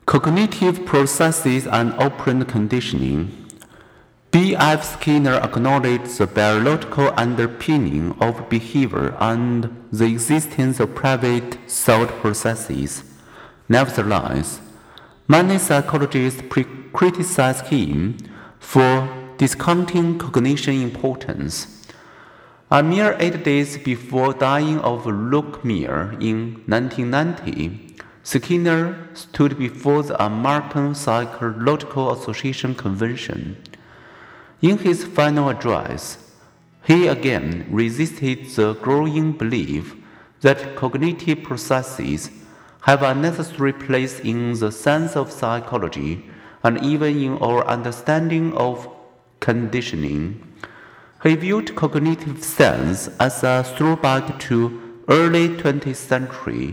Cognitive processes and operant conditioning. B.F. Skinner acknowledged the biological underpinning of behavior and the existence of private thought processes. Nevertheless, many psychologists criticize him for discounting cognition importance. A mere 8 days before dying of leukemia in 1990, Skinner stood before the American Psychological Association convention. In his final address, he again resisted the growing belief that cognitive processes have a necessary place in the science of psychology and even in our understanding of conditioning. He viewed cognitive science as a throwback to early 20th century.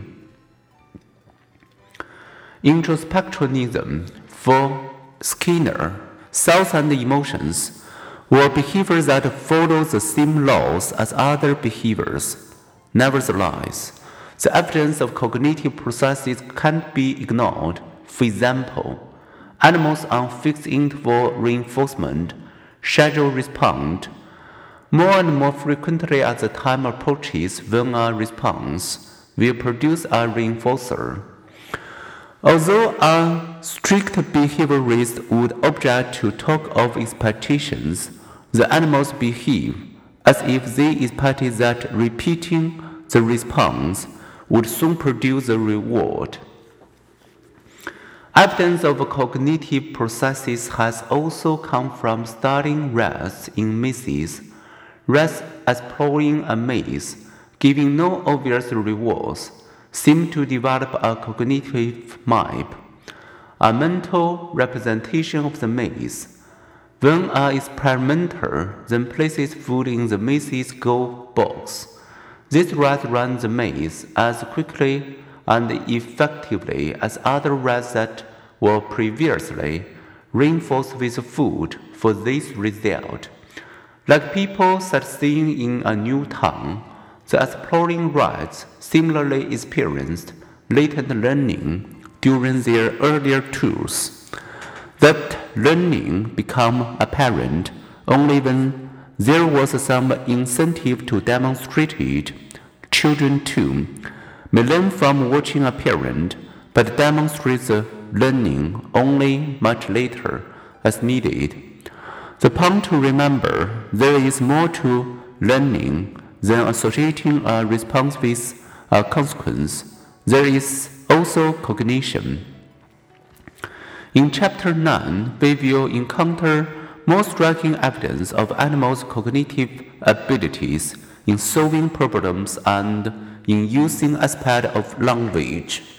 Introspectionism. For Skinner, thoughts and emotions were behaviors that follow the same laws as other behaviors. Nevertheless, the evidence of cognitive processes can't be ignored. For example, animals on fixed interval reinforcement schedule respond more and more frequently as the time approaches when a response will produce a reinforcer. Although a strict behaviorist would object to talk of expectations, the animals behave as if they expected that repeating the response would soon produce the reward. Evidence of cognitive processes has also come from studying rats in mazes. Rats exploring a maze, giving no obvious rewards, seem to develop a cognitive map, a mental representation of the maze. When an experimenter then places food in the maze's goal box, these rats run the maze as quickly and effectively as other rats that were previously reinforced with food for this result. Like people sightseeing in a new town, the exploring rats similarly experienced latent learning during their earlier tours. That learning became apparent only when there was some incentive to demonstrate it. Children, too, may learn from watching a parent, but demonstrate the learning only much later as needed. The point to remember, there is more to learning than associating a response with a consequence. There is also cognition. In Chapter 9, we will encounter more striking evidence of animals' cognitive abilities in solving problems and in using aspects of language.